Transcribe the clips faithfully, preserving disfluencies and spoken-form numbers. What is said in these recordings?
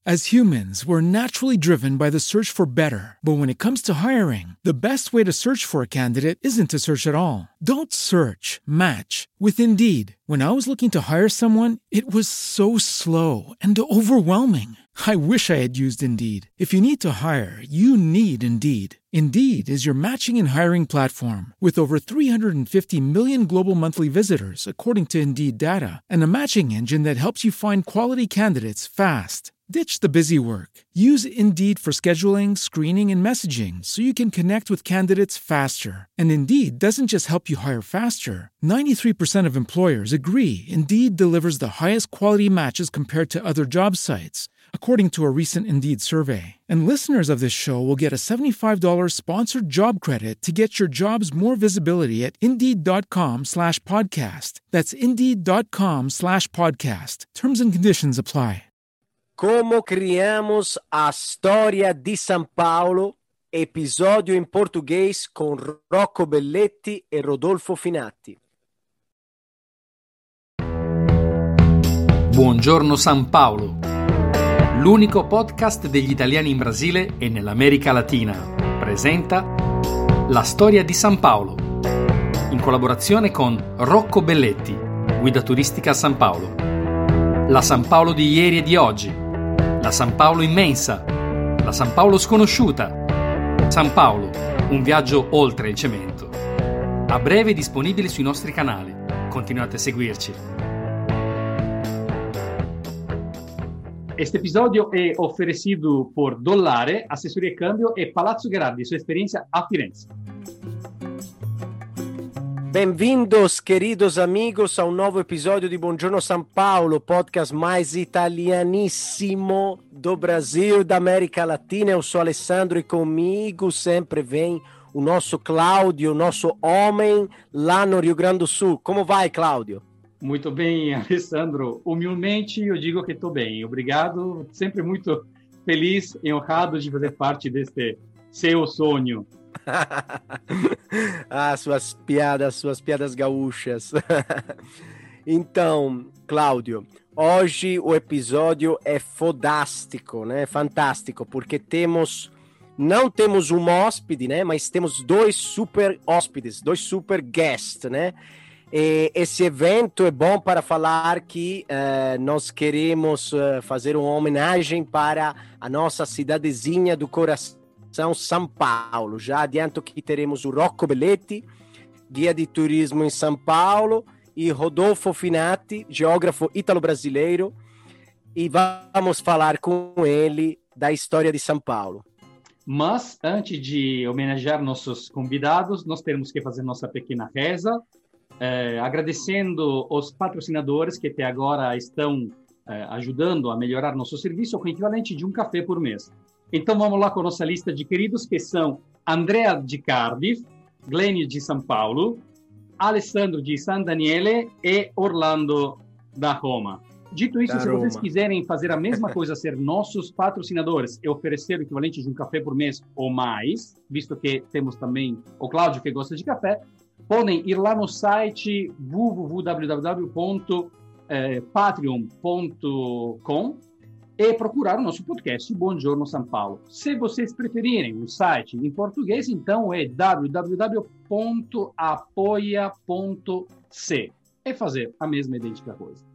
As humans, we're naturally driven by the search for better. But when it comes to hiring, the best way to search for a candidate isn't to search at all. Don't search, match with Indeed. When I was looking to hire someone, it was so slow and overwhelming. I wish I had used Indeed. If you need to hire, you need Indeed. Indeed is your matching and hiring platform with over three hundred fifty million global monthly visitors, according to Indeed data, and a matching engine that helps you find quality candidates fast. Ditch the busy work. Use Indeed for scheduling, screening, and messaging so you can connect with candidates faster. And Indeed doesn't just help you hire faster. ninety-three percent of employers agree Indeed delivers the highest quality matches compared to other job sites, according to a recent Indeed survey. And listeners of this show will get a seventy-five dollars sponsored job credit to get your jobs more visibility at Indeed.com slash podcast. That's Indeed.com slash podcast. Terms and conditions apply. Como criamos a storia di San Paolo, episodio in portoghese con Rocco Belletti e Rodolfo Finatti. Buongiorno San Paolo, l'unico podcast degli italiani in Brasile e nell'America Latina, presenta La storia di San Paolo, in collaborazione con Rocco Belletti, guida turistica a San Paolo. La San Paolo di ieri e di oggi, la San Paolo immensa, la San Paolo sconosciuta, San Paolo, un viaggio oltre il cemento. A breve disponibile sui nostri canali. Continuate a seguirci. Este episodio è oferecido por Dollare, assessoria e cambio, e Palazzo Gherardi, sua esperienza a Firenze. Bem-vindos, queridos amigos, a um novo episódio de Buongiorno São Paulo, podcast mais italianíssimo do Brasil e da América Latina. Eu sou Alessandro e comigo sempre vem o nosso Cláudio, o nosso homem lá no Rio Grande do Sul. Como vai, Cláudio? Muito bem, Alessandro. Humilmente eu digo que estou bem. Obrigado. Sempre muito feliz e honrado de fazer parte deste seu sonho. Ah, suas piadas, suas piadas gaúchas. Então, Cláudio, hoje o episódio é fodástico, né? Fantástico, porque temos, não temos um hóspede, né? Mas temos dois super hóspedes, dois super guests, né? E esse evento é bom para falar que uh, nós queremos uh, fazer uma homenagem para a nossa cidadezinha do coração, São Paulo. Já adianto que teremos o Rocco Belletti, guia de turismo em São Paulo, e Rodolfo Finatti, geógrafo ítalo-brasileiro, e vamos falar com ele da história de São Paulo. Mas, antes de homenagear nossos convidados, nós temos que fazer nossa pequena reza, eh, agradecendo os patrocinadores que até agora estão eh, ajudando a melhorar nosso serviço, com o equivalente de um café por mês. Então vamos lá com a nossa lista de queridos, que são Andrea de Cardiff, Glênio de São Paulo, Alessandro de San Daniele e Orlando da Roma. Dito isso, da se Roma. Vocês quiserem fazer a mesma coisa, ser nossos patrocinadores e oferecer o equivalente de um café por mês ou mais, visto que temos também o Cláudio que gosta de café, podem ir lá no site w w w ponto patreon ponto com e procurar o nosso podcast Buongiorno São Paulo. Se vocês preferirem o site em português, então é w w w ponto apoia ponto c e fazer a mesma idêntica coisa.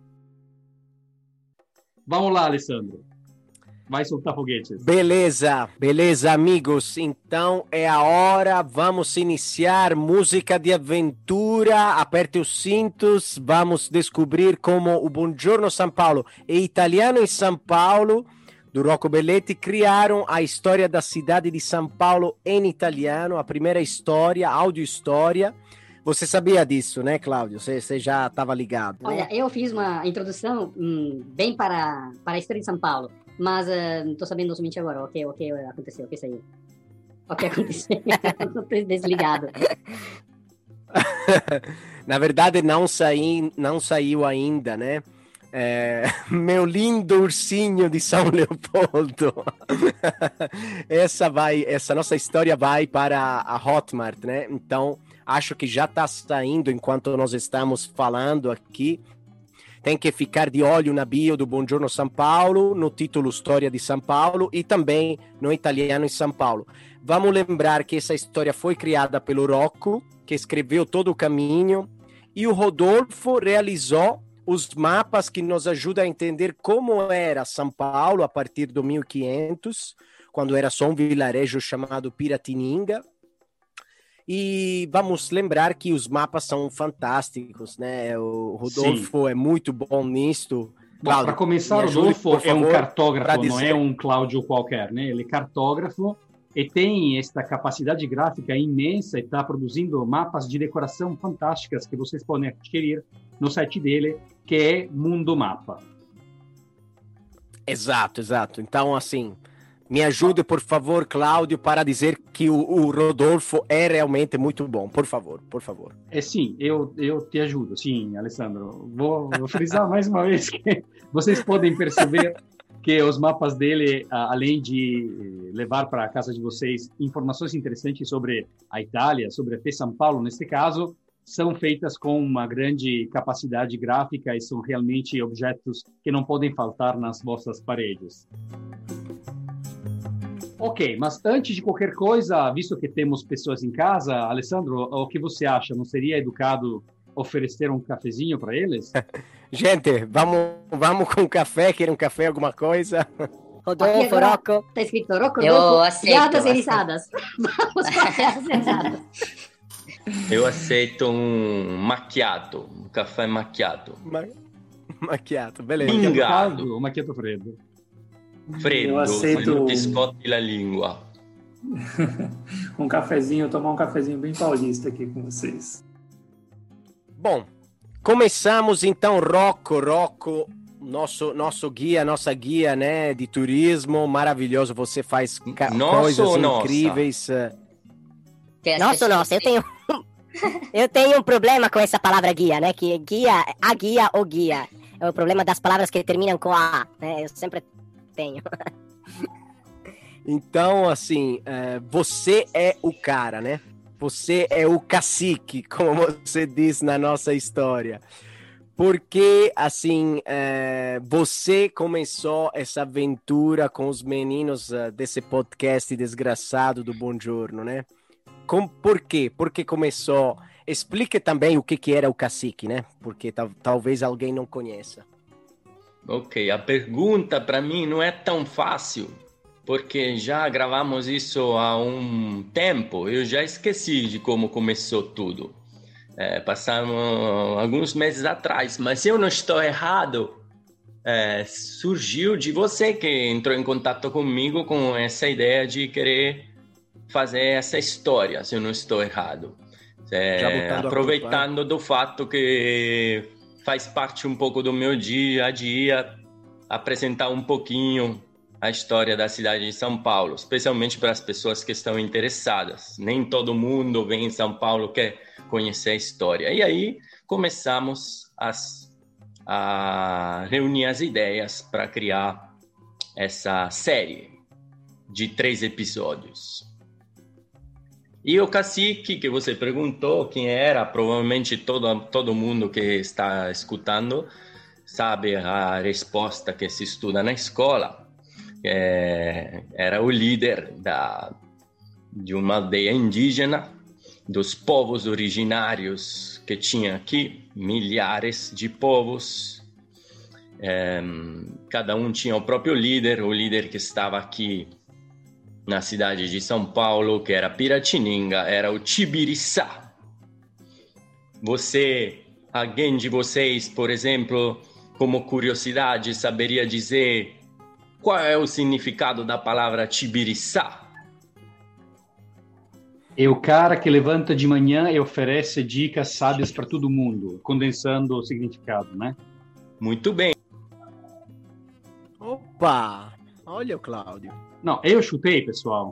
Vamos lá, Alessandro. Vai soltar foguetes. Beleza, beleza, amigos. Então é a hora, vamos iniciar música de aventura. Aperte os cintos, vamos descobrir como o Buongiorno São Paulo e Italiano em São Paulo, do Rocco Belletti, criaram a história da cidade de São Paulo em italiano, a primeira história, áudio-história. Você sabia disso, né, Cláudio? Você, você já estava ligado, né? Olha, eu fiz uma introdução hum, bem para, para a história de São Paulo, mas uh, não estou sabendo somente agora o que, o que aconteceu, o que saiu. O que aconteceu, estou desligado. Na verdade, não, saí, não saiu ainda, né? É, meu lindo ursinho de São Leopoldo. essa, vai, essa nossa história vai para a Hotmart, né? Então, acho que já está saindo enquanto nós estamos falando aqui. tem que ficar de olho na bio do Buongiorno São Paulo, no título História de São Paulo e também no Italiano em São Paulo. Vamos lembrar que essa história foi criada pelo Rocco, que escreveu todo o caminho, e o Rodolfo realizou os mapas que nos ajudam a entender como era São Paulo a partir do mil e quinhentos, quando era só um vilarejo chamado Piratininga. E vamos lembrar que os mapas são fantásticos, né? O Rodolfo Sim. é muito bom nisto. Para começar, o Rodolfo é um cartógrafo, não é um Cláudio qualquer, né? Ele é cartógrafo e tem esta capacidade gráfica imensa e está produzindo mapas de decoração fantásticas que vocês podem adquirir no site dele, que é Mundo Mapa. Exato, exato. Então, assim, me ajude, por favor, Cláudio, para dizer que o, o Rodolfo é realmente muito bom. Por favor, por favor. É sim, eu, eu te ajudo. Sim, Alessandro. Vou, vou frisar mais uma vez que vocês podem perceber que os mapas dele, além de levar para a casa de vocês informações interessantes sobre a Itália, sobre até São Paulo, neste caso, são feitas com uma grande capacidade gráfica e são realmente objetos que não podem faltar nas vossas paredes. Ok, mas antes de qualquer coisa, visto que temos pessoas em casa, Alessandro, o que você acha? Não seria educado oferecer um cafezinho para eles? Gente, vamos, vamos com café? Querem um café, alguma coisa? Rodolfo, Rocco. Tá escrito Rocco, Rodolfo, piadas e risadas. Vamos para piadas e risadas. Eu aceito um macchiato, um café macchiato. Ma- macchiato, beleza. Pingado ou macchiato freddo? Freddo, eu aceito não te scotti la língua. um cafezinho, tomar um cafezinho bem paulista aqui com vocês. Bom, começamos então, Rocco, Rocco, nosso, nosso guia, nossa guia, né, de turismo, maravilhoso, você faz ca- coisas incríveis. Nossa, nossa, eu tenho... eu tenho um problema com essa palavra guia, né, que guia, a guia ou guia, é o problema das palavras que terminam com a, né, eu sempre tenho. Então, assim, é, você é o cara, né? Você é o cacique, como você diz na nossa história. Porque, assim, é, você começou essa aventura com os meninos uh, desse podcast desgraçado do Buongiorno, né? Com, por quê? Porque começou... Explique também o que, que era o cacique, né? Porque tal, talvez alguém não conheça. Ok, a pergunta para mim não é tão fácil, porque já gravamos isso há um tempo, eu já esqueci de como começou tudo. É, passaram alguns meses atrás, mas eu não estou errado. É, surgiu de você que entrou em contato comigo com essa ideia de querer fazer essa história, se eu não estou errado. É, aproveitando do fato que faz parte um pouco do meu dia a dia, apresentar um pouquinho a história da cidade de São Paulo, especialmente para as pessoas que estão interessadas. Nem todo mundo vem em São Paulo quer conhecer a história. E aí começamos as, a reunir as ideias para criar essa série de três episódios. E o cacique, que você perguntou quem era, provavelmente todo, todo mundo que está escutando sabe a resposta que se estuda na escola. É, era o líder da, de uma aldeia indígena, dos povos originários que tinha aqui, milhares de povos. É, cada um tinha o próprio líder, o líder que estava aqui na cidade de São Paulo, que era Piratininga, era o Tibiriçá. Você, alguém de vocês, por exemplo, como curiosidade, saberia dizer qual é o significado da palavra Tibiriçá? É o cara que levanta de manhã e oferece dicas sábias para todo mundo, condensando o significado, né? Muito bem. Opa! Olha o Cláudio. Não, eu chutei, pessoal.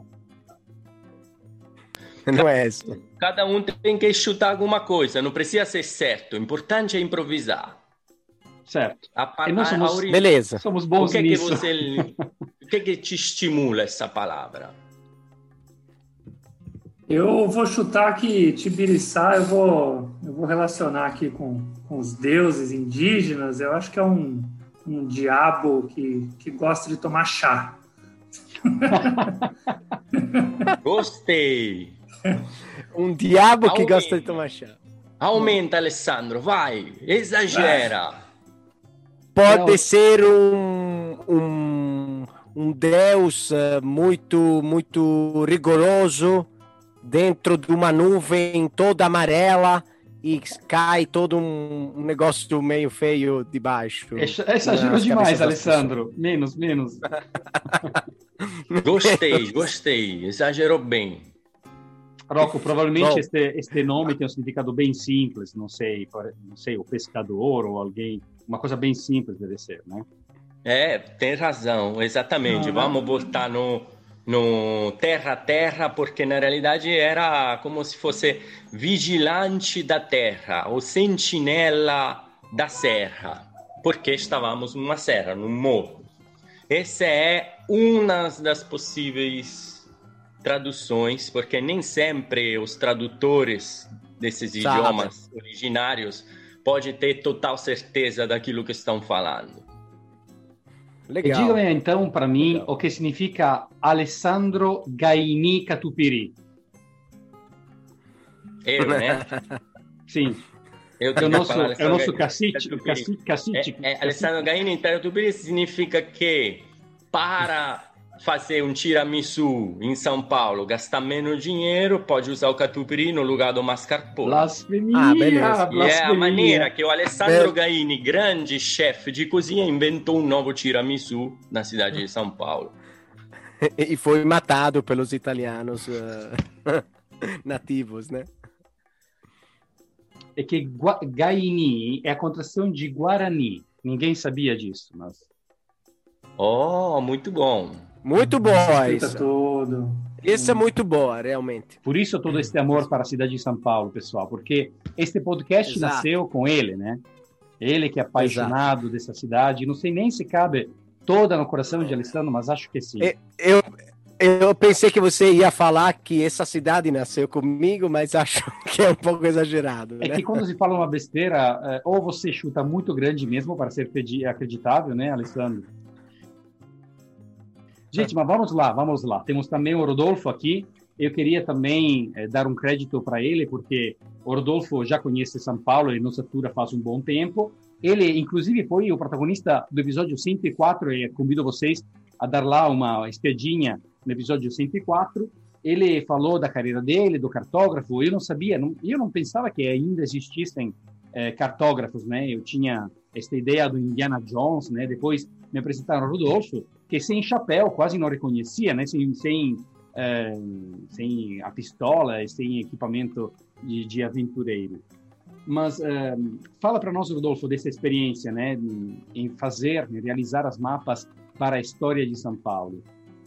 Não é isso. Cada um tem que chutar alguma coisa, não precisa ser certo. O importante é improvisar. Certo. A, e nós somos, a ori... Beleza. Somos bons o que nisso. Que você, o que, que te estimula essa palavra? Eu vou chutar que Tibiriçá, eu vou, eu vou relacionar aqui com, com os deuses indígenas. Eu acho que é um, um diabo que, que gosta de tomar chá. Gostei. Um diabo que Aumenta. gosta de tomar chá. Aumenta, Alessandro, vai, exagera. Pode Não. ser um, um, um deus uh, muito, muito rigoroso dentro de uma nuvem toda amarela e cai todo um, um negócio meio feio de baixo. Exagerou demais, Alessandro. Menos, menos. Gostei, gostei. Exagerou bem. Rocco, provavelmente este, este nome tem um significado bem simples, não sei, não sei, o pescador ou alguém, uma coisa bem simples deve ser, né? É, tem razão, exatamente. Não, Vamos não. botar no, no terra a terra, porque na realidade era como se fosse vigilante da terra, ou sentinela da serra, porque estávamos numa serra, num morro. Essa é uma das possíveis traduções, porque nem sempre os tradutores desses Sabe. idiomas originários podem ter total certeza daquilo que estão falando. Legal. E diga-me então para mim Legal. o que significa Alessandro Gaini Catupiri. Eu, né? Sim, Eu é o nosso, falar é o nosso Gaini cacique, Catupiri. cacique, cacique, É, é, Alessandro Gaini Catupiri significa que para fazer um tiramisu em São Paulo, gastar menos dinheiro, pode usar o catupiry no lugar do mascarpone. Blasfemia, Ah, beleza. E é a blasfemia. maneira que o Alessandro Bel- Gaini, grande chefe de cozinha, inventou um novo tiramisu na cidade de São Paulo. E foi matado pelos italianos uh, nativos, né? É que Gua- Gaini é a contração de Guarani. Ninguém sabia disso, mas... Oh, muito bom. Muito boa Explica isso. tudo. Isso é muito boa, realmente. Por isso todo este amor para a cidade de São Paulo, pessoal, porque este podcast Exato. nasceu com ele, né? Ele que é apaixonado dessa cidade. Não sei nem se cabe toda no coração de Alessandro, mas acho que sim. E- Eu, eu pensei que você ia falar que essa cidade nasceu comigo, mas acho que é um pouco exagerado, É né? que quando se fala uma besteira, é, ou você chuta muito grande mesmo para ser acredi- acreditável, né, Alessandro? Gente, mas vamos lá, vamos lá. Temos também o Rodolfo aqui. Eu queria também eh, dar um crédito para ele, porque o Rodolfo já conhece São Paulo e nos atura faz um bom tempo. Ele, inclusive, foi o protagonista do episódio cento e quatro, e convido vocês a dar lá uma espiadinha no episódio cento e quatro. Ele falou da carreira dele, do cartógrafo. Eu não sabia, não, eu não pensava que ainda existissem eh, cartógrafos, né? Eu tinha esta ideia do Indiana Jones, né? Depois me apresentaram o Rodolfo, que sem chapéu quase não reconhecia, né? Sem, sem, eh, sem a pistola e sem equipamento de, de aventureiro. Mas eh, fala para nós, Rodolfo, dessa experiência, né? Em fazer, em realizar as mapas para a história de São Paulo.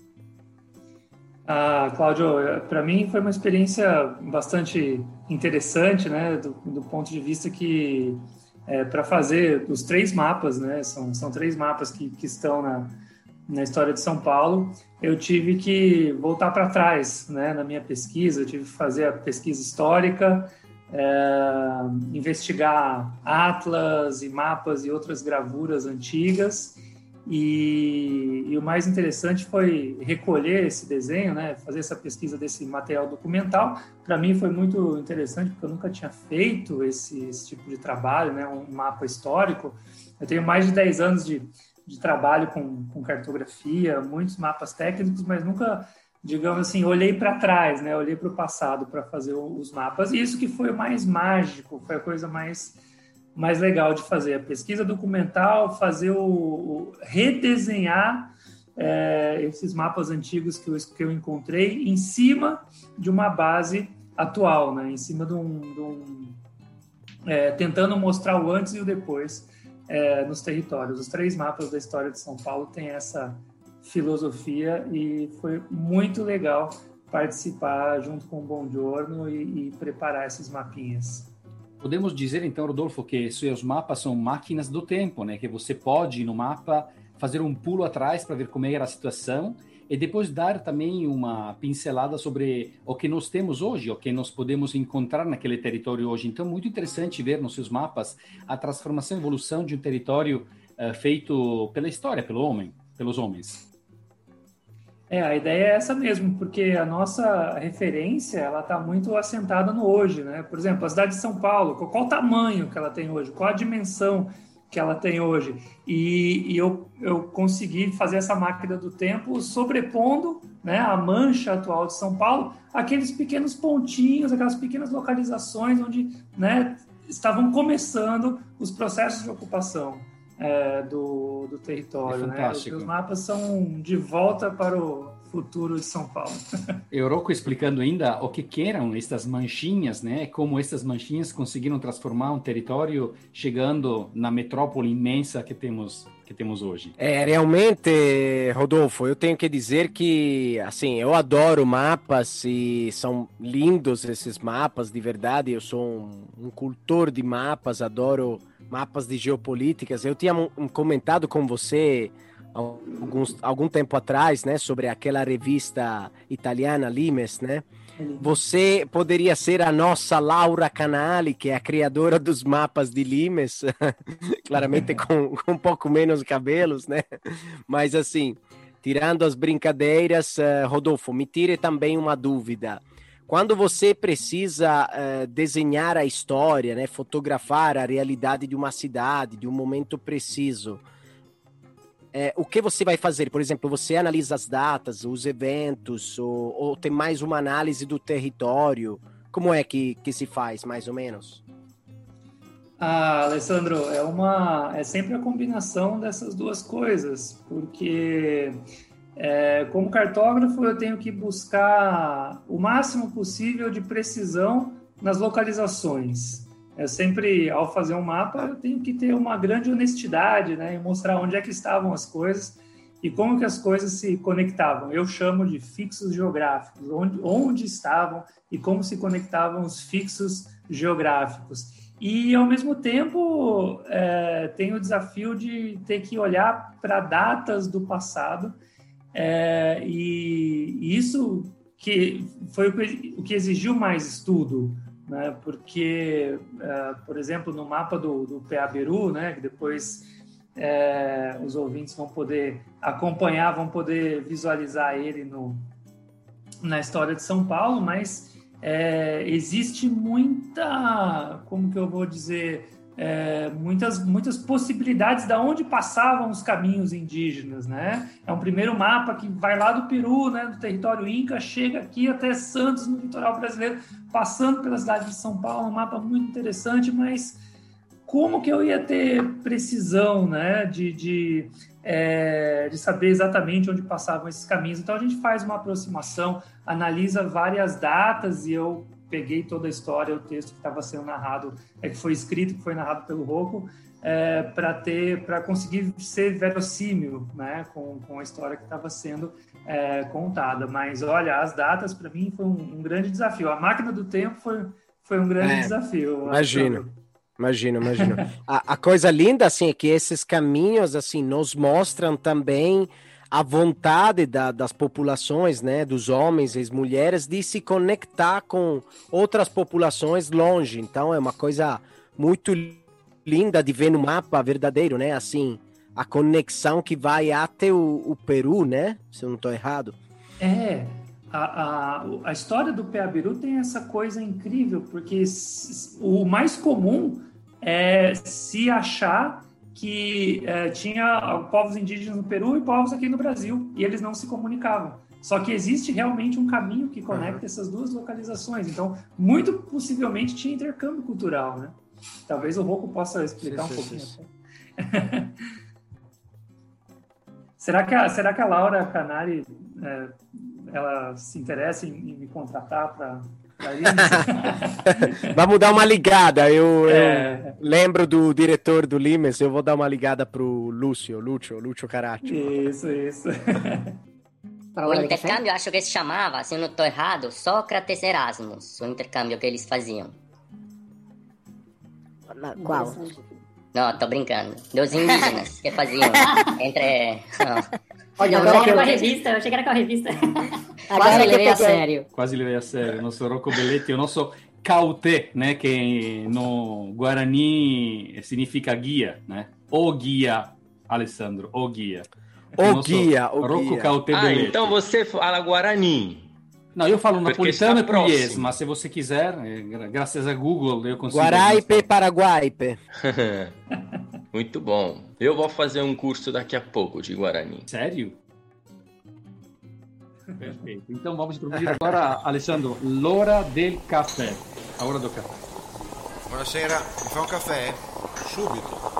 Ah, Cláudio, para mim foi uma experiência bastante interessante, né? Do, do ponto de vista que é, para fazer os três mapas, né? São, são três mapas que, que estão na, na história de São Paulo. Eu tive que voltar para trás, né? Na minha pesquisa, eu tive que fazer a pesquisa histórica, é, investigar atlas e mapas e outras gravuras antigas. E, e o mais interessante foi recolher esse desenho, né? Fazer essa pesquisa desse material documental. Para mim foi muito interessante, porque eu nunca tinha feito esse, esse tipo de trabalho, né? Um mapa histórico. Eu tenho mais de dez anos de, de trabalho com, com cartografia, muitos mapas técnicos, mas nunca, digamos assim, olhei para trás, né? Olhei para o passado para fazer os mapas. E isso que foi o mais mágico, foi a coisa mais... mais legal de fazer, a pesquisa documental, fazer o, o redesenhar é, esses mapas antigos que eu, que eu encontrei em cima de uma base atual, né? Em cima de um, de um é, tentando mostrar o antes e o depois é, nos territórios. Os três mapas da história de São Paulo têm essa filosofia e foi muito legal participar junto com o Buongiorno e, e preparar esses mapinhas. Podemos dizer, então, Rodolfo, que seus mapas são máquinas do tempo, né? Que você pode, no mapa, fazer um pulo atrás para ver como era a situação e depois dar também uma pincelada sobre o que nós temos hoje, o que nós podemos encontrar naquele território hoje. Então, muito interessante ver nos seus mapas a transformação e evolução de um território uh, feito pela história, pelo homem, pelos homens. É, a ideia é essa mesmo, porque a nossa referência, ela está muito assentada no hoje, né? Por exemplo, a cidade de São Paulo, qual o tamanho que ela tem hoje, qual a dimensão que ela tem hoje. E, e eu, eu consegui fazer essa máquina do tempo sobrepondo, né, a mancha atual de São Paulo, aqueles pequenos pontinhos, aquelas pequenas localizações onde, né, estavam começando os processos de ocupação é, do, do território. É fantástico. Né? Os mapas são de volta para o futuro de São Paulo. Euroko explicando ainda o que, que eram estas manchinhas, né? Como estas manchinhas conseguiram transformar um território chegando na metrópole imensa que temos, que temos hoje. É, realmente, Rodolfo, eu tenho que dizer que, assim, eu adoro mapas e são lindos esses mapas, de verdade. Eu sou um, um cultor de mapas, adoro mapas de geopolíticas. Eu tinha um, um comentado com você Alguns, algum tempo atrás, né, sobre aquela revista italiana Limes, né? Você poderia ser a nossa Laura Canali, que é a criadora dos mapas de Limes, claramente com, com um pouco menos cabelos, né? Mas assim, tirando as brincadeiras, uh, Rodolfo, me tire também uma dúvida. Quando você precisa uh, desenhar a história, né, fotografar a realidade de uma cidade, de um momento preciso, É, o que você vai fazer? Por exemplo, você analisa as datas, os eventos, ou, ou tem mais uma análise do território? Como é que, que se faz, mais ou menos? Ah, Alessandro, é, uma, é sempre a combinação dessas duas coisas, porque é, como cartógrafo eu tenho que buscar o máximo possível de precisão nas localizações. Eu sempre, ao fazer um mapa, eu tenho que ter uma grande honestidade, né, e mostrar onde é que estavam as coisas e como que as coisas se conectavam. Eu chamo de fixos geográficos, onde, onde estavam e como se conectavam os fixos geográficos. E, ao mesmo tempo, é, tem o desafio de ter que olhar para datas do passado, é, e, e isso que foi o que, o que exigiu mais estudo, né? Porque, uh, por exemplo, no mapa do, do Peabiru, né, que depois é, os ouvintes vão poder acompanhar, vão poder visualizar ele no, na história de São Paulo, mas é, existe muita, como que eu vou dizer, é, muitas, muitas possibilidades de onde passavam os caminhos indígenas, né? É um primeiro mapa que vai lá do Peru, né, do território Inca, chega aqui até Santos, no litoral brasileiro, passando pela cidade de São Paulo, um mapa muito interessante, mas como que eu ia ter precisão, né, de, de, é, de saber exatamente onde passavam esses caminhos? Então a gente faz uma aproximação, analisa várias datas, e eu peguei toda a história, o texto que estava sendo narrado, é, que foi escrito, que foi narrado pelo Rocco, é, para ter, para conseguir ser verossímil, né, com, com a história que estava sendo é, contada. Mas olha, as datas para mim foi um, um grande desafio. A máquina do tempo foi, foi um grande é, desafio. Imagino, imagino, imagino. a, a coisa linda assim é que esses caminhos assim nos mostram também a vontade da, das populações, né, dos homens e as mulheres, de se conectar com outras populações longe. Então é uma coisa muito linda de ver no mapa verdadeiro, né, assim, a conexão que vai até o, o Peru, né, se eu não estou errado. É, a, a, a história do Peabiru tem essa coisa incrível, porque o mais comum é se achar que é, tinha povos indígenas no Peru e povos aqui no Brasil, e eles não se comunicavam. Só que existe realmente um caminho que conecta uhum. essas duas localizações. Então, muito possivelmente tinha intercâmbio cultural, né? Talvez o Rocco possa explicar sim, um sim, pouquinho. Sim. será, que a, será que a Laura Canali é, ela se interessa em, em me contratar para... Vamos dar uma ligada. Eu, é. eu lembro do diretor do Limes. Eu vou dar uma ligada pro Lúcio, Lúcio, Lúcio Caraccio. Isso, isso. O intercâmbio, acho que se chamava, se eu não estou errado, Sócrates Erasmus, o intercâmbio que eles faziam. Qual? No, sto brincando. Dos indígenas che faziam entre... No. Olha, eu agora achei que que eu... era com a revista, eu achei que era com a revista. Quase levei a sério. Quasi levei a sério. Il nostro Rocco Belletti, il nostro Caute, né, che no Guarani significa guia, né? O guia, Alessandro, o guia. O guia, o Rocco guia. Caute Ah, Belletti. então você fala Guarani. No, io falo Perché napolitano sta e pugliese, próximo. ma se você quiser, eh, gra- graças a Google, eu consigo... Guaraipe, Paraguaipe. Muito bom. Eu vou fazer um curso daqui a pouco de Guarani. Sério? Perfeito. Então vamos introduzir agora, Alessandro, l'ora del caffè. A hora do caffè. Buonasera, mi fa un caffè? Subito.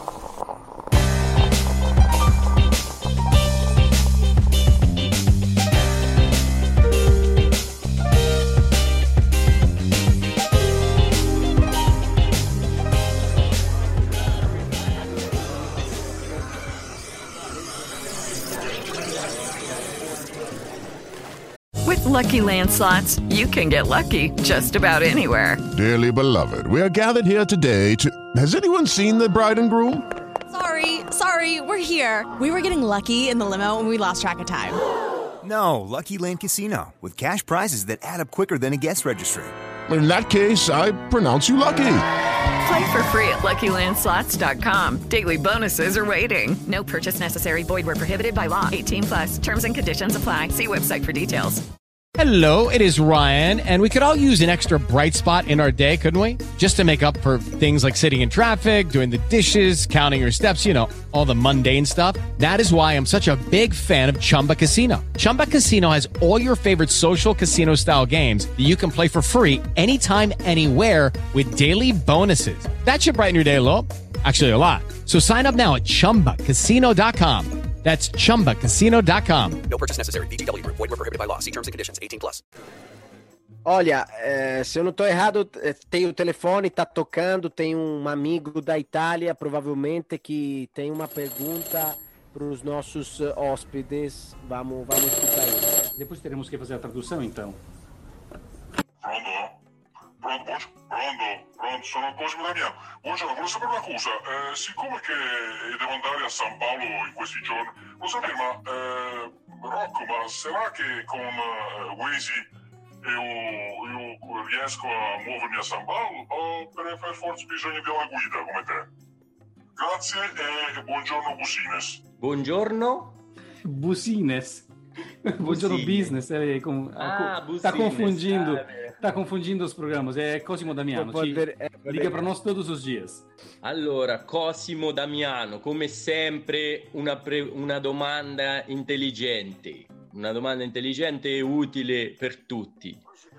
With Lucky Land Slots, you can get lucky just about anywhere. Dearly beloved, we are gathered here today to... Has anyone seen the bride and groom? Sorry, sorry, we're here. We were getting lucky in the limo and we lost track of time. No, Lucky Land Casino, with cash prizes that add up quicker than a guest registry. In that case, I pronounce you lucky. Play for free at lucky land slots dot com. Daily bonuses are waiting. No purchase necessary. Void where prohibited by law. eighteen plus. Terms and conditions apply. See website for details. Hello, it is Ryan, and we could all use an extra bright spot in our day, couldn't we? Just to make up for things like sitting in traffic, doing the dishes, counting your steps, you know, all the mundane stuff. That is why I'm such a big fan of Chumba Casino. Chumba Casino has all your favorite social casino-style games that you can play for free anytime, anywhere with daily bonuses. That should brighten your day a little. Actually, a lot. So sign up now at chumba casino dot com. That's chumba casino dot com. No purchase necessary. V G W Group. Void where prohibited by law. See terms and conditions. eighteen plus. Olha, eh, se eu não tô errado, eh, tem o telefone, tá tocando, tem um amigo da Itália, provavelmente, que tem uma pergunta para os nossos uh, hóspedes. Vamos, vamos escutar isso. Depois teremos que fazer a tradução, então. Pronto? Pronto, pronto, pronto, pronto, sono Cosimo Damiano. Buongiorno, volevo sapere una cosa, eh, siccome che devo andare a San Paolo in questi giorni, lo sapere, ma eh, Rocco, ma sarà che con eh, Waze io, io riesco a muovermi a San Paolo o per, per forza bisogna di una guida come te? Grazie e buongiorno Busines. Buongiorno? Busines. Buongiorno business. É, com, ah, tá Busines. confundindo. Ah, é. Tá confundindo os programas. É Cosimo Damiano. Ci, liga para nós todos os dias. Allora, Cosimo Damiano, come sempre una, pre- una domanda intelligente. Una domanda intelligente e utile per tutti.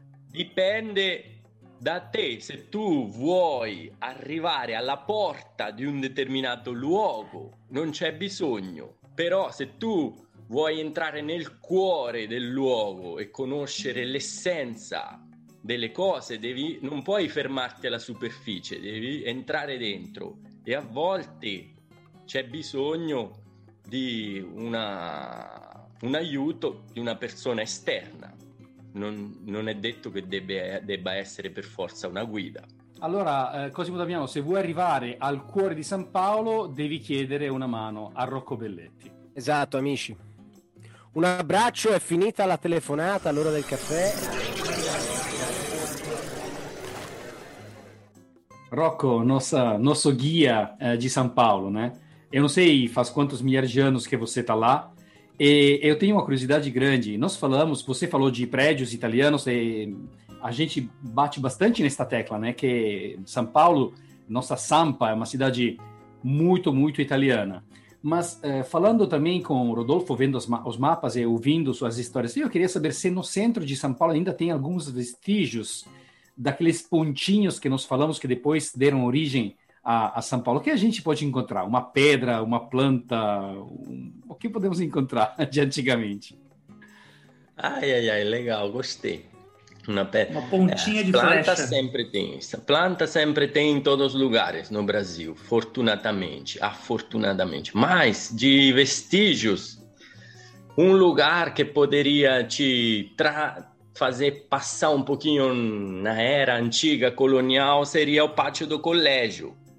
Dipende da te se tu vuoi arrivare alla porta di un determinato luogo, non c'è bisogno. Però se tu vuoi entrare nel cuore del luogo e conoscere l'essenza delle cose, devi, non puoi fermarti alla superficie, devi entrare dentro e a volte c'è bisogno di una, un aiuto di una persona esterna. Non, non è detto che debbe, debba essere per forza una guida. Allora, eh, Cosimo Damiano, se vuoi arrivare al cuore di San Paolo, devi chiedere una mano a Rocco Belletti. Esatto, amici. Un abbraccio, è finita la telefonata all'ora del caffè. Rocco, nossa, nosso guia eh, de São Paulo, né? Eu não sei faz quantos milhares de anos que você está lá, e eu tenho uma curiosidade grande. Nós falamos, você falou de prédios italianos, e a gente bate bastante nesta tecla, né? Que São Paulo, nossa Sampa, é uma cidade muito, muito italiana. Mas eh, falando também com o Rodolfo, vendo os, ma- os mapas e ouvindo suas histórias, eu queria saber se no centro de São Paulo ainda tem alguns vestígios daqueles pontinhos que nós falamos que depois deram origem a, a São Paulo. O que a gente pode encontrar? Uma pedra, uma planta? Um... O que podemos encontrar de antigamente? Ai, ai, ai, legal, gostei. Una, pe- Uma pontinha eh, de planta flecha. sempre tem. Planta sempre tem em todos os lugares no Brasil, fortunadamente, afortunadamente. Mas de vestígios, um lugar que poderia te tra- fazer passar um pouquinho na era antiga colonial seria o pátio do colégio.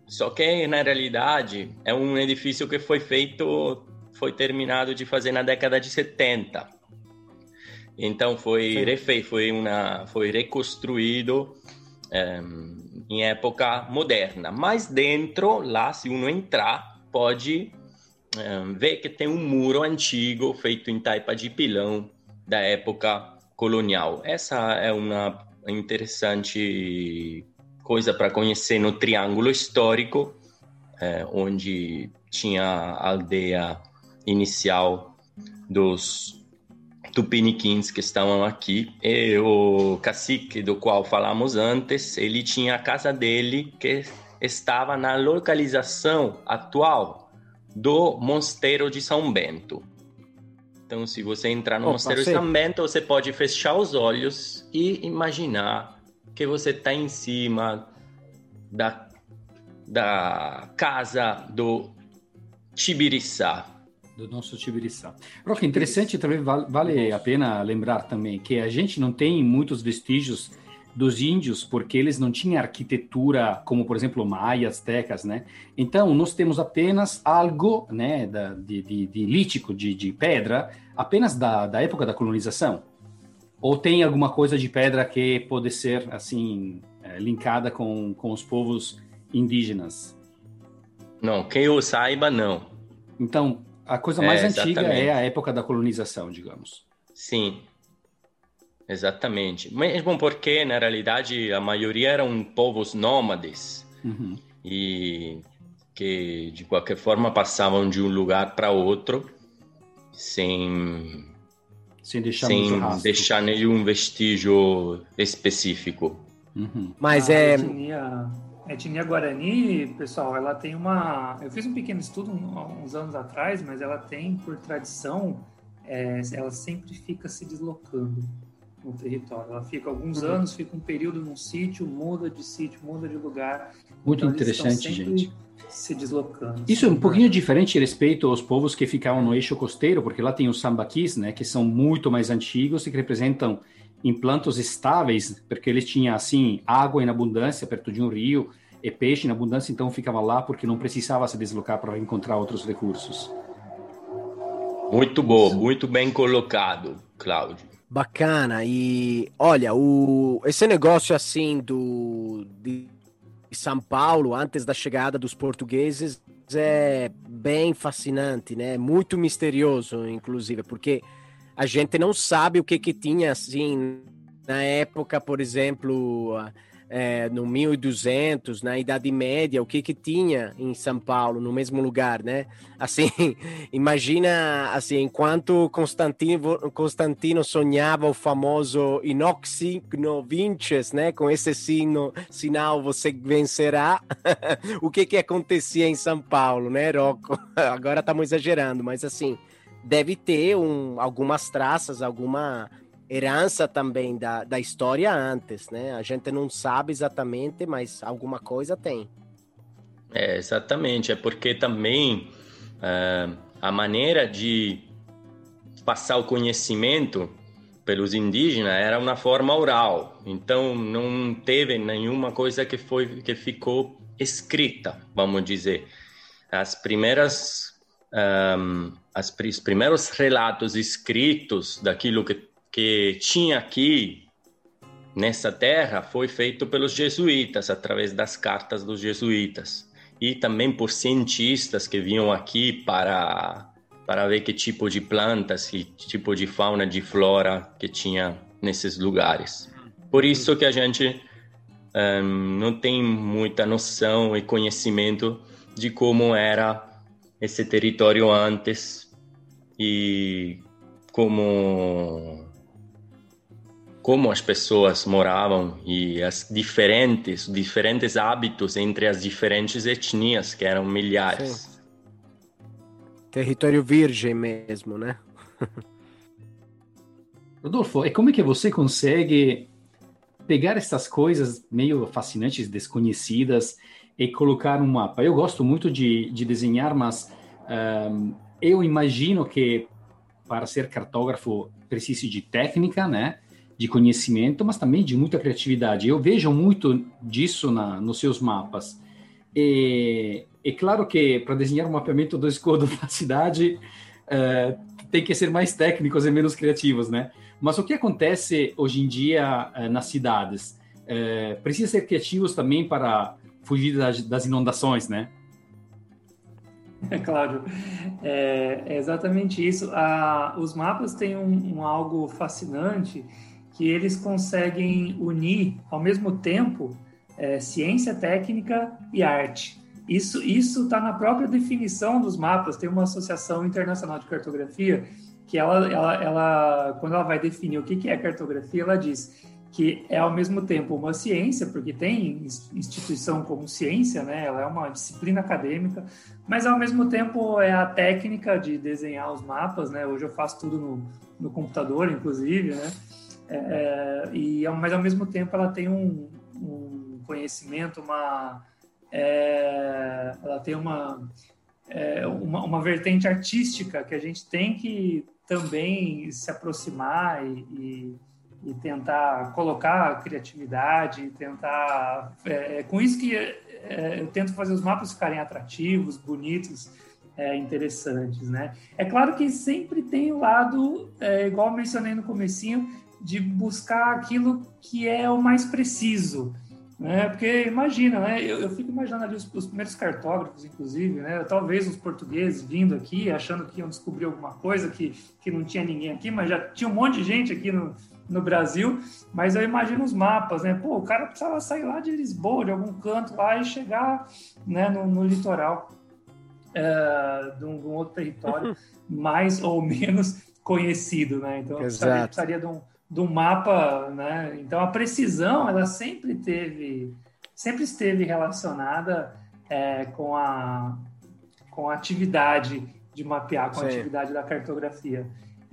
Só que, na realidade, é um edifício que foi feito, foi terminado de fazer na década de setenta. Então, foi refeito, foi, uma, foi reconstruído um, em época moderna. Mas dentro, lá, se uno entrar, pode um, ver que tem um muro antigo feito em taipa de pilão da época colonial. Essa é uma interessante coisa para conhecer no Triângulo Histórico, é, onde tinha a aldeia inicial dos tupiniquins que estavam aqui, e o cacique do qual falamos antes, ele tinha a casa dele que estava na localização atual do Mosteiro de São Bento. Então, se você entrar no Opa, Mosteiro sim. de São Bento, você pode fechar os olhos e imaginar que você está em cima da, da casa do Tibiriçá. Do nosso Tibiriçá. Roque, interessante também, vale, vale a pena lembrar também que a gente não tem muitos vestígios dos índios porque eles não tinham arquitetura como, por exemplo, maia, astecas, né? Então, nós temos apenas algo, né, da, de, de, de lítico, de, de pedra, apenas da, da época da colonização. Ou tem alguma coisa de pedra que pode ser, assim, é, linkada com, com os povos indígenas? Não, que eu saiba, não. Então, a coisa mais É, antiga exatamente. é a época da colonização, digamos. Sim, exatamente. Mesmo porque, na realidade, a maioria eram povos nômades Uhum. e que, de qualquer forma, passavam de um lugar para outro sem, Sem deixar sem muito rastro. deixar nenhum vestígio específico. Uhum. Mas a é... etnia, a etnia Guarani, pessoal, ela tem uma... Eu fiz um pequeno estudo há uns anos atrás, mas ela tem, por tradição, é, ela sempre fica se deslocando no território. Ela fica alguns Uhum. anos, fica um período num sítio, muda de sítio, muda de lugar. Muito Então, eles estão interessante, sempre gente. se deslocando. Isso é um pouquinho diferente respeito aos povos que ficavam no eixo costeiro, porque lá tem os sambaquis, né, que são muito mais antigos e que representam implantos estáveis, porque eles tinham, assim, água em abundância perto de um rio e peixe em abundância, então ficava lá porque não precisava se deslocar para encontrar outros recursos. Muito bom, muito bem colocado, Cláudio. Bacana. E olha, o, esse negócio assim do de São Paulo antes da chegada dos portugueses é bem fascinante, né? Muito misterioso, inclusive, porque a gente não sabe o que que tinha assim na época, por exemplo, é, no mil e duzentos, na Idade Média, o que que tinha em São Paulo, no mesmo lugar, né? Assim, imagina, assim, enquanto Constantino, Constantino sonhava o famoso Inox Signo Vinces, né? Com esse sino, sinal você vencerá. O que que acontecia em São Paulo, né, Rocco? Agora estamos exagerando, mas assim, deve ter um, algumas traças, alguma herança também da, da história antes, né? A gente não sabe exatamente, mas alguma coisa tem. É, exatamente, é porque também uh, a maneira de passar o conhecimento pelos indígenas era uma forma oral, então não teve nenhuma coisa que foi que ficou escrita, vamos dizer. As primeiras um, as, os primeiros relatos escritos daquilo que que tinha aqui nessa terra foi feito pelos jesuítas, através das cartas dos jesuítas, e também por cientistas que vinham aqui para, para ver que tipo de plantas, que tipo de fauna, de flora que tinha nesses lugares. Por isso que a gente um, não tem muita noção e conhecimento de como era esse território antes e como... como as pessoas moravam e as diferentes, diferentes hábitos entre as diferentes etnias, que eram milhares. Sim. Território virgem mesmo, né? Rodolfo, e como é que você consegue pegar essas coisas meio fascinantes, desconhecidas, e colocar no mapa? Eu gosto muito de, de desenhar, mas um, eu imagino que para ser cartógrafo precise de técnica, né? De conhecimento, mas também de muita criatividade. Eu vejo muito disso na, nos seus mapas. E é claro que para desenhar um mapeamento do escudo da cidade é, tem que ser mais técnicos e menos criativos, né? Mas o que acontece hoje em dia é, nas cidades? É, precisa ser criativos também para fugir das, das inundações, né? É, Cláudio, é, é exatamente isso. A, os mapas têm um, um algo fascinante, que eles conseguem unir, ao mesmo tempo, é, ciência, técnica e arte. Isso isso está na própria definição dos mapas. Tem uma associação internacional de cartografia que ela, ela, ela quando ela vai definir o que, que é cartografia, ela diz que é ao mesmo tempo uma ciência, porque tem instituição como ciência, né? Ela é uma disciplina acadêmica, mas ao mesmo tempo é a técnica de desenhar os mapas, né? Hoje eu faço tudo no, no computador, inclusive, né? É, e, mas ao mesmo tempo ela tem um, um conhecimento, uma, é, ela tem uma, é, uma, uma vertente artística que a gente tem que também se aproximar e, e e tentar colocar a criatividade, tentar... É, é com isso que é, eu tento fazer os mapas ficarem atrativos, bonitos, é, interessantes, né? É claro que sempre tem o lado, é, igual eu mencionei no comecinho, de buscar aquilo que é o mais preciso, né? Porque imagina, né? Eu, eu fico imaginando ali os, os primeiros cartógrafos, inclusive, né? Talvez os portugueses vindo aqui, achando que iam descobrir alguma coisa que, que não tinha ninguém aqui, mas já tinha um monte de gente aqui no no Brasil, mas eu imagino os mapas, né? Pô, o cara precisava sair lá de Lisboa, de algum canto lá e chegar, né, no, no litoral é, de, um, de um outro território mais ou menos conhecido, né? Então, eu precisaria, precisaria de, um, de um mapa, né? Então, a precisão, ela sempre teve, sempre esteve relacionada é, com, a, com a atividade de mapear, com a Sim. atividade da cartografia.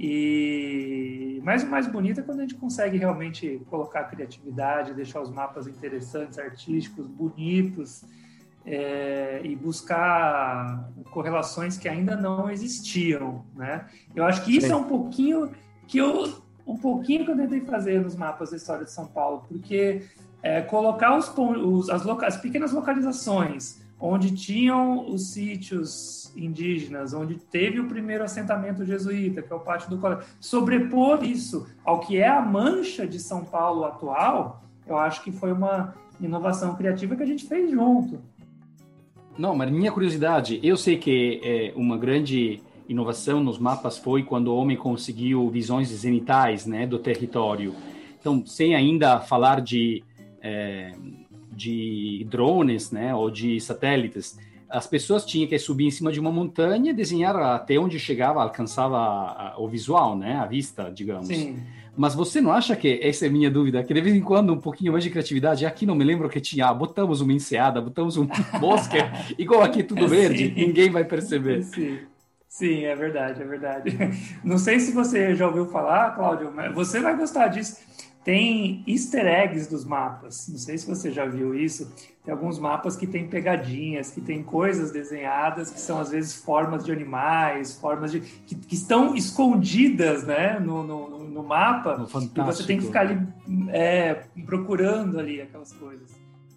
E mas o mais bonito é quando a gente consegue realmente colocar a criatividade, deixar os mapas interessantes, artísticos, bonitos, é, e buscar correlações que ainda não existiam, né? Eu acho que isso Sim. é um pouquinho que eu um pouquinho que eu tentei fazer nos mapas da história de São Paulo, porque é, colocar os, os as, loca, as pequenas localizações onde tinham os sítios indígenas, onde teve o primeiro assentamento jesuíta, que é o Pátio do Colégio, sobrepor isso ao que é a mancha de São Paulo atual, eu acho que foi uma inovação criativa que a gente fez junto. Não, mas minha curiosidade, eu sei que é, uma grande inovação nos mapas foi quando o homem conseguiu visões zenitais, né, do território. Então, sem ainda falar de... É, de drones, né, ou de satélites, as pessoas tinham que subir em cima de uma montanha e desenhar até onde chegava, alcançava a, a, o visual, né, a vista, digamos. Sim. Mas você não acha que, essa é a minha dúvida, que de vez em quando um pouquinho mais de criatividade, aqui não me lembro que tinha, ah, botamos uma enseada, botamos um bosque, igual aqui tudo verde, Sim. ninguém vai perceber. Sim. Sim, é verdade, é verdade. Não sei se você já ouviu falar, Cláudio, mas você vai gostar disso. Tem easter eggs dos mapas, não sei se você já viu isso, tem alguns mapas que tem pegadinhas, que tem coisas desenhadas, que são às vezes formas de animais, formas de que, que estão escondidas, né, no, no, no mapa, no e você tem que ficar ali é, procurando ali aquelas coisas.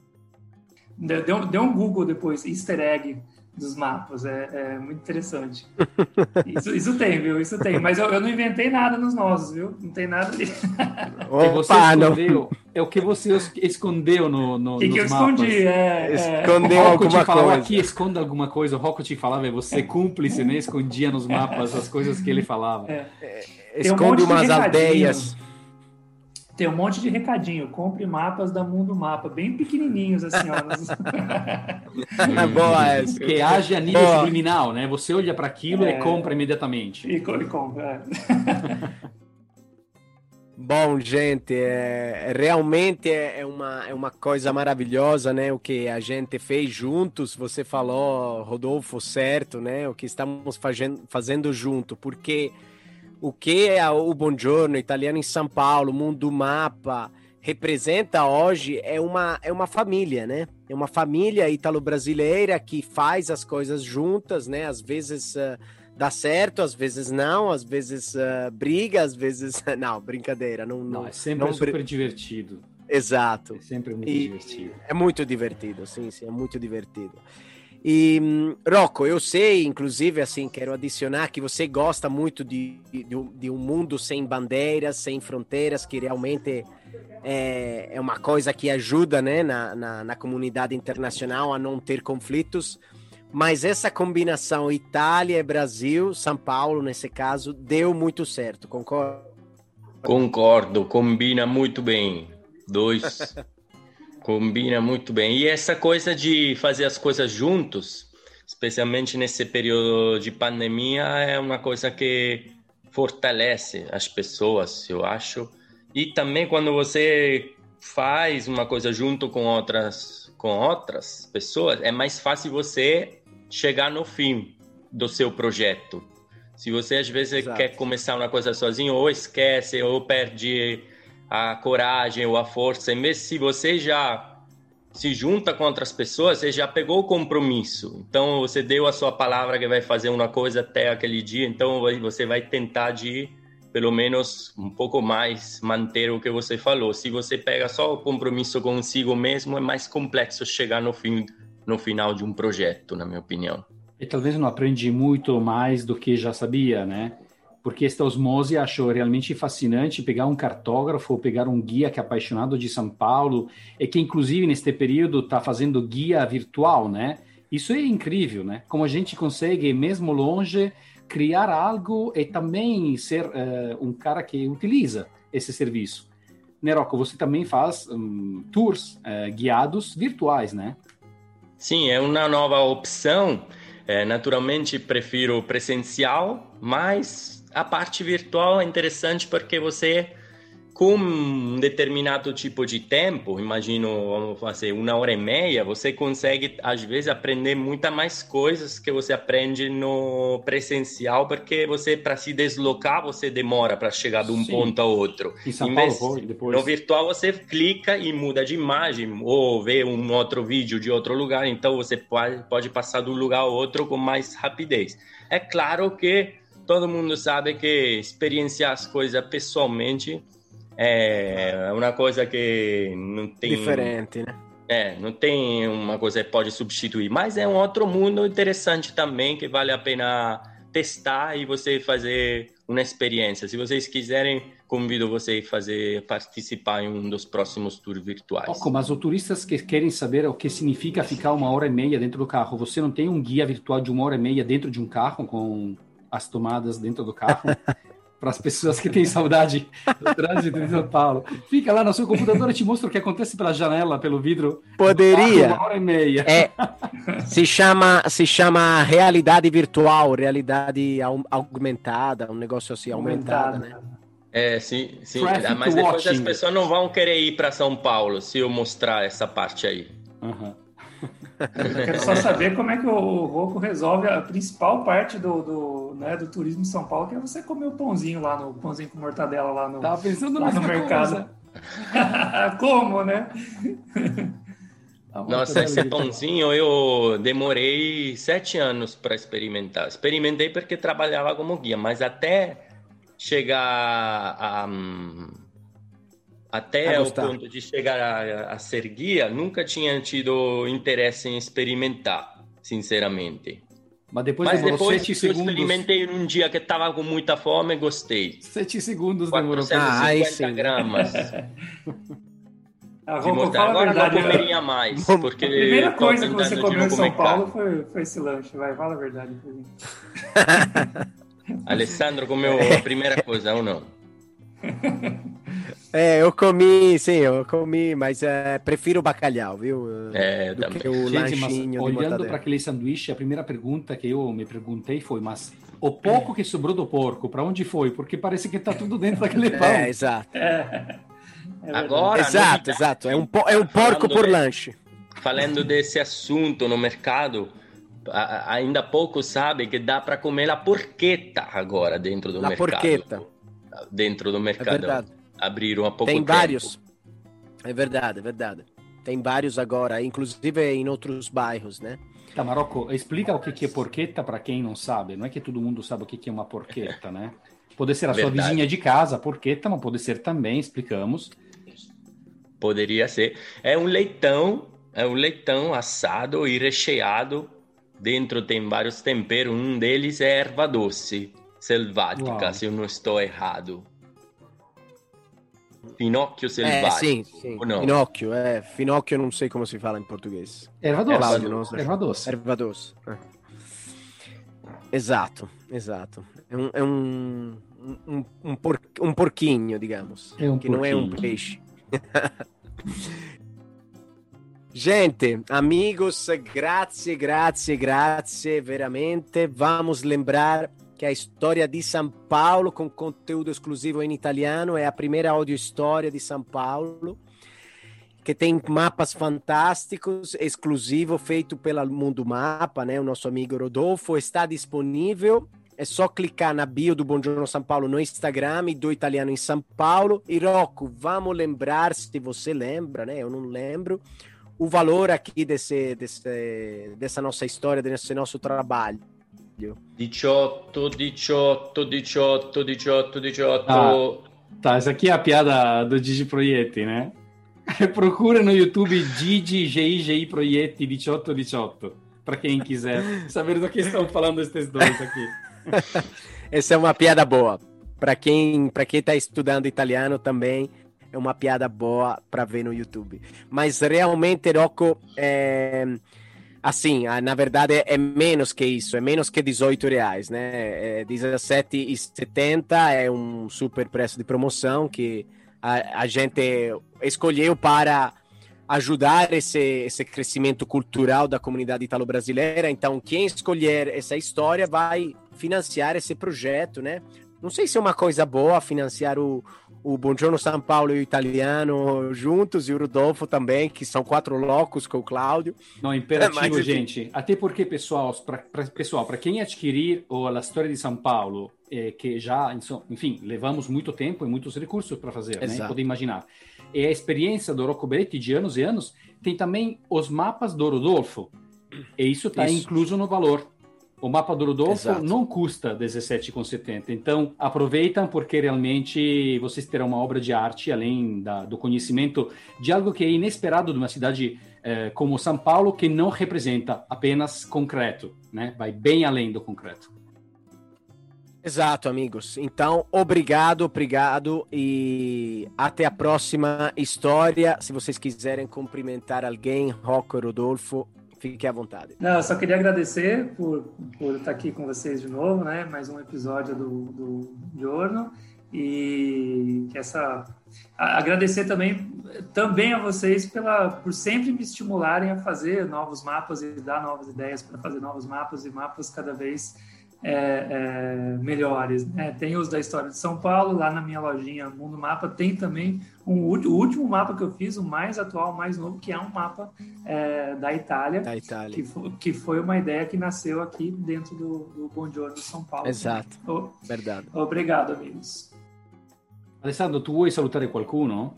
Deu, deu um Google depois, easter egg dos mapas, é, é muito interessante. Isso, isso tem, viu? Isso tem. Mas eu, eu não inventei nada nos nossos, viu? Não tem nada ali. Opa, você escondeu, é o que você escondeu no, no, que nos que eu mapas. escondi, é, Escondeu é. alguma te falava, coisa. Aqui, esconda alguma coisa. O Rocco te falava, você é cúmplice, né? Escondia nos mapas as coisas que ele falava. É. Esconde um umas aldeias. Tem um monte de recadinho. Compre mapas da Mundo Mapa, bem pequenininhos, assim, ó. É boa essa. Que haja nível boa. Subliminal, né? Você olha para aquilo é. e compra imediatamente. E, e compra, é. Bom, gente, é, realmente é, é, uma, é uma coisa maravilhosa, né? O que a gente fez juntos, você falou, Rodolfo, certo, né? O que estamos fazendo, fazendo junto, porque... O que é o Buongiorno Italiano em São Paulo, Mundo Mapa, representa hoje é uma, é uma família, né? É uma família italo-brasileira que faz as coisas juntas, né? Às vezes uh, dá certo, às vezes não, às vezes uh, briga, às vezes... Não, brincadeira. Não, não, não é sempre não... super divertido. Exato. É sempre muito e, divertido. É muito divertido, sim, sim, é muito divertido. E, Rocco, eu sei, inclusive, assim, quero adicionar que você gosta muito de, de, de um mundo sem bandeiras, sem fronteiras, que realmente é, é uma coisa que ajuda, né, na, na, na comunidade internacional a não ter conflitos. Mas essa combinação Itália e Brasil, São Paulo, nesse caso, deu muito certo, concorda? Concordo, combina muito bem. Dois... Combina muito bem. E essa coisa de fazer as coisas juntos, especialmente nesse período de pandemia, é uma coisa que fortalece as pessoas, eu acho. E também quando você faz uma coisa junto com outras, com outras pessoas, é mais fácil você chegar no fim do seu projeto. Se você às vezes Exato. Quer começar uma coisa sozinho, ou esquece, ou perde a coragem ou a força, em vez se você já se junta com outras pessoas, você já pegou o compromisso, então você deu a sua palavra que vai fazer uma coisa até aquele dia, então você vai tentar de, pelo menos um pouco mais, manter o que você falou. Se você pega só o compromisso consigo mesmo, é mais complexo chegar no, fim, no final de um projeto, na minha opinião. E talvez não aprende muito mais do que já sabia, né? Porque esta osmose achou realmente fascinante pegar um cartógrafo, pegar um guia que é apaixonado de São Paulo e que, inclusive, neste período está fazendo guia virtual, né? Isso é incrível, né? Como a gente consegue, mesmo longe, criar algo e também ser uh, um cara que utiliza esse serviço. Né, Rocco, você também faz um, tours uh, guiados virtuais, né? Sim, é uma nova opção. É, naturalmente, prefiro presencial, mas... A parte virtual é interessante porque você, com um determinado tipo de tempo, imagino, vamos fazer uma hora e meia, você consegue, às vezes, aprender muitas mais coisas que você aprende no presencial, porque você, para se deslocar, você demora para chegar de um Sim. ponto a outro. Em São Paulo, vez, depois. No virtual, você clica e muda de imagem, ou vê um outro vídeo de outro lugar, então você pode, pode passar de um lugar a outro com mais rapidez. É claro que todo mundo sabe que experienciar as coisas pessoalmente é uma coisa que não tem... Diferente, né? É, não tem uma coisa que pode substituir. Mas é um outro mundo interessante também, que vale a pena testar e você fazer uma experiência. Se vocês quiserem, convido vocês a fazer, participar em um dos próximos tours virtuais. Oco, mas os turistas que querem saber o que significa ficar uma hora e meia dentro do carro, você não tem um guia virtual de uma hora e meia dentro de um carro com... as tomadas dentro do carro, para as pessoas que têm saudade do trânsito de São Paulo. Fica lá no seu computador e te mostra o que acontece pela janela, pelo vidro. Poderia. Uma hora e meia. É, se chama, se chama realidade virtual, realidade aumentada, um negócio assim, aumentada, né? É, sim, sim. Mas depois as pessoas não vão querer ir para São Paulo se eu mostrar essa parte aí. Uhum. Eu quero só saber como é que o Rocco resolve a principal parte do, do, né, do turismo de São Paulo, que é você comer o pãozinho lá, no pãozinho com mortadela lá no, Tava pensando lá no mercado. Como, né? Nossa, esse pãozinho eu demorei sete anos para experimentar. Experimentei porque trabalhava como guia, mas até chegar a... Até o ponto de chegar a, a ser guia, nunca tinha tido interesse em experimentar, sinceramente. Mas depois, Mas demorou depois sete eu segundos. experimentei num dia que estava com muita fome e gostei. Sete segundos demorou. quatrocentos e cinquenta gramas. Ah, de Rocco, Agora a verdade, não comeria mais. Porque a primeira coisa que você comeu em São comer Paulo foi, foi esse lanche. Vai, fala a verdade. Alessandro comeu a primeira coisa ou não? É, eu comi, sim, eu comi, mas é, prefiro o bacalhau, viu? É, do também. que o Gente, lanchinho mas de olhando para aquele sanduíche, a primeira pergunta que eu me perguntei foi, mas o pouco que sobrou do porco, para onde foi? Porque parece que tá tudo dentro daquele pão. É, exato. É, é Agora, exato, novidade, exato. É um, po- é um porco por de, lanche. Falando desse assunto no mercado, a, ainda pouco sabe que dá para comer a porchetta agora dentro do La mercado. porchetta. Dentro do É mercado. verdade. Abriram há pouco Tem tempo. vários. É verdade, é verdade. Tem vários agora, inclusive em outros bairros, né? Tá, Marocco, explica o que é porchetta para quem não sabe. Não é que todo mundo sabe o que é uma porchetta, né? Pode ser a sua Verdade. vizinha de casa, a porchetta, mas pode ser também, explicamos. poderia ser. É um leitão, é um leitão assado e recheado. Dentro tem vários temperos, um deles é erva doce, selvática, Uau. se eu não estou errado. Finocchio selvatico. Eh, sim, sim. No? Finocchio, eh. Finocchio non so come si fa in portoghese. Erva doce. Claudio, non so. Erva doce. Erva doce. Eh. Esatto, esatto. È un, è un, un, un, por, un porquinho, digamos. È un che porquinho. non è un pesce. Gente, amigos, grazie, grazie, grazie, veramente. Vamos lembrar que a história de São Paulo, com conteúdo exclusivo em italiano, é a primeira audio-história de São Paulo, que tem mapas fantásticos, exclusivo, feito pela Mundo Mapa, né? O nosso amigo Rodolfo está disponível. É só clicar na bio do Buongiorno São Paulo no Instagram e do Italiano em São Paulo. E Rocco, vamos lembrar, se você lembra, né? Eu não lembro, o valor aqui desse, desse, dessa nossa história, desse nosso trabalho. diciotto, diciotto, diciotto, diciotto, diciotto. Ah, tá, essa aqui é a piada do Gigi Proietti, né? Procura no YouTube Gigi G I G I Proietti diciotto diciotto, para quem quiser saber do que estão falando esses dois aqui. Essa é uma piada boa. Para quem para quem está estudando italiano também é uma piada boa para ver no YouTube. Mas realmente, Rocco, é... assim, na verdade é menos que isso, é menos que dezoito reais, né? É dezessete e setenta, é um super preço de promoção que a, a gente escolheu para ajudar esse, esse crescimento cultural da comunidade italo-brasileira. Então, quem escolher essa história vai financiar esse projeto, né? Não sei se é uma coisa boa financiar o, o Buongiorno São Paulo e o Italiano juntos, e o Rodolfo também, que são quatro loucos com o Cláudio. Não, imperativo, Mas, gente. Até porque, pessoal, para pessoal, para quem adquirir o A História de São Paulo, é, que já, enfim, levamos muito tempo e muitos recursos para fazer, né? Pode imaginar. E a experiência do Rocco Beretti de anos e anos tem também os mapas do Rodolfo. E isso está incluso no valor. O mapa do Rodolfo Exato. Não custa dezessete reais e setenta centavos. Então, aproveitam porque realmente vocês terão uma obra de arte, além da, do conhecimento de algo que é inesperado de uma cidade eh, como São Paulo, que não representa apenas concreto, né? Vai bem além do concreto. Exato, amigos. Então, obrigado, obrigado e até a próxima história. Se vocês quiserem cumprimentar alguém, Rocco e Rodolfo, fique à vontade. Não, eu só queria agradecer por, por estar aqui com vocês de novo, né? Mais um episódio do, do Giorno. E essa agradecer também, também a vocês pela, por sempre me estimularem a fazer novos mapas e dar novas ideias para fazer novos mapas e mapas cada vez é, é, melhores, né? Tem os da história de São Paulo, lá na minha lojinha Mundo Mapa tem também um, o último mapa que eu fiz, o mais atual, o mais novo, que é um mapa é, da Itália, da Itália. Que, foi, que foi uma ideia que nasceu aqui dentro do, do Buongiorno São Paulo. Exato, oh, verdade. Obrigado, amigos. Alessandro, tu vuoi salutare qualcuno?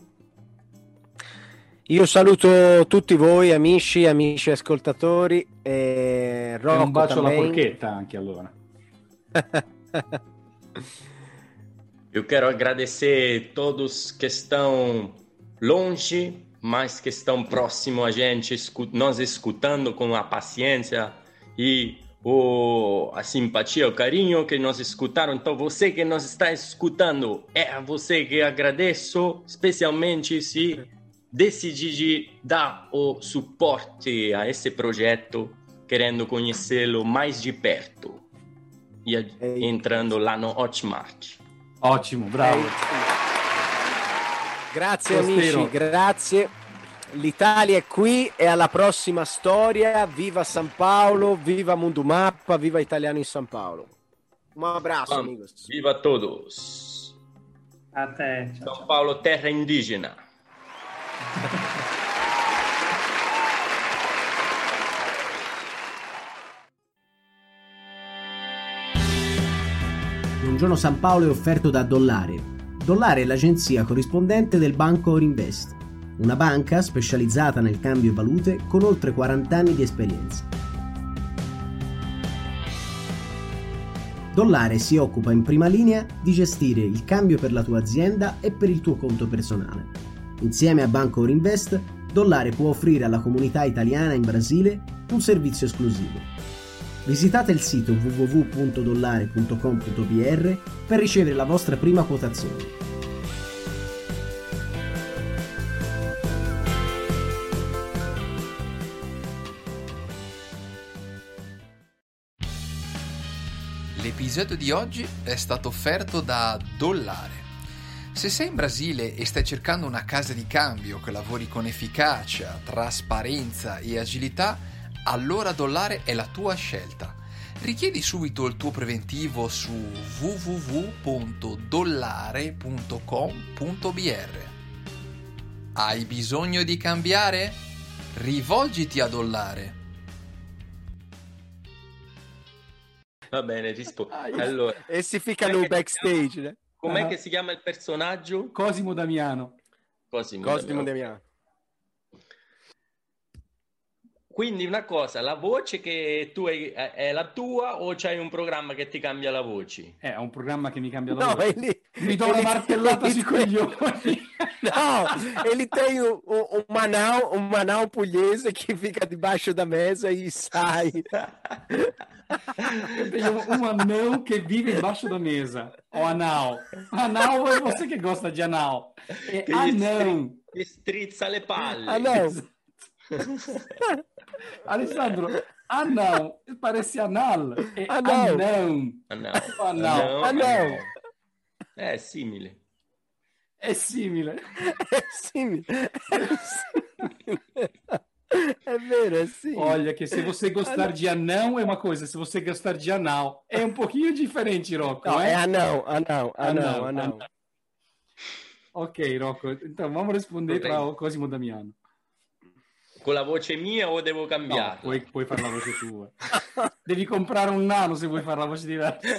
Io saluto tutti voi, amici, amici ascoltatori. E, Rocco, e un bacio também. alla porchetta anche allora. Eu quero agradecer todos que estão longe, mas que estão próximo a gente, nós escutando com a paciência e o, a simpatia, o carinho que nos escutaram. Então, você que nos está escutando, é a você que agradeço, especialmente se decidir dar o suporte a esse projeto, querendo conhecê-lo mais de perto e entrando lá no Hotmart. Ottimo, bravo. Grazie amici, grazie. L'Italia è qui e alla prossima storia. Viva São Paulo, viva Mundo Mappa, viva Italiano in São Paulo. Un abrazo, Vamos. amigos. Viva a todos. Até. Tchau, São Paulo, terra indígena. Buongiorno San Paolo è offerto da Dollare. Dollare è l'agenzia corrispondente del banco Orinvest, una banca specializzata nel cambio valute con oltre quaranta anni di esperienza. Dollare si occupa in prima linea di gestire il cambio per la tua azienda e per il tuo conto personale. Insieme a Banco Orinvest, Dollare può offrire alla comunità italiana in Brasile un servizio esclusivo. Visitate il sito w w w punto dollare punto com punto b r per ricevere la vostra prima quotazione. L'episodio di oggi è stato offerto da Dollare. Se sei in Brasile e stai cercando una casa di cambio che lavori con efficacia, trasparenza e agilità, allora Dollare è la tua scelta. Richiedi subito il tuo preventivo su w w w punto dollare punto com punto b r. Hai bisogno di cambiare? Rivolgiti a Dollare. Va bene, rispondo. Allora, e si ficcano un backstage. Né? Com'è Ah. che si chiama il personaggio? Cosimo Damiano. Cosimo, Cosimo Damiano. Damiano. Quindi una cosa, la voce che tu hai è la tua o c'hai un programma che ti cambia la voce? Eh, è un programma che mi cambia la No, voce. è lì. Mi do è una lì- martellata è lì- sui coglioni. No, ele tem um, um, um Manau, um Manau pugliese que fica debaixo da mesa e sai. Eu tenho um anão que vive embaixo da mesa. O anal. Anal é você que gosta de anal. É Che gli anão. stri- gli strizza le palle. Ah, não. Alessandro, anão parece anal. É Anal. anão. Ah, no. Anal. Ah, não. È simile. È simile. É sim. É vero, é sim. Olha, que se você gostar de anão é uma coisa, se você gostar de anal é um pouquinho diferente, Rocco. Não, eh? é anão, anão, anão, Anão, anão. Ok, Rocco, então vamos responder para o Cosimo Damiano. Con la voce mia o devo No, cambiarla? puoi, puoi fare la voce tua. Devi comprare un nano se vuoi fare la voce diversa.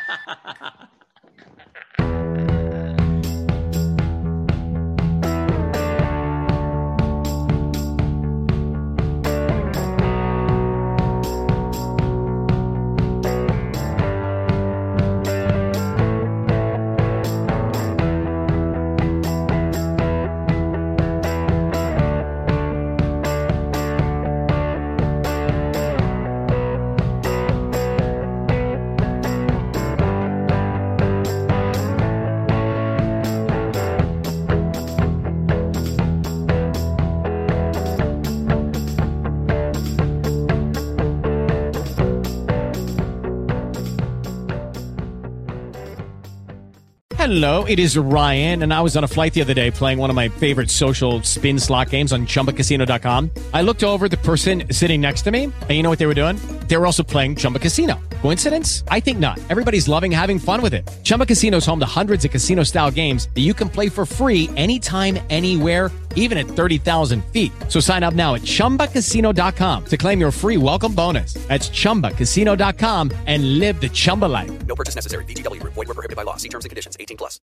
Hello, it is Ryan, and I was on a flight the other day playing one of my favorite social spin slot games on chumba casino dot com. I looked over at the person sitting next to me, and you know what they were doing? They were also playing Chumba Casino. Coincidence? I think not. Everybody's loving having fun with it. Chumba Casino is home to hundreds of casino-style games that you can play for free anytime, anywhere, even at thirty thousand feet. So sign up now at chumba casino dot com to claim your free welcome bonus. That's chumba casino dot com and live the Chumba life. No purchase necessary. V G W. Void where prohibited by law. See terms and conditions. eighteen plus.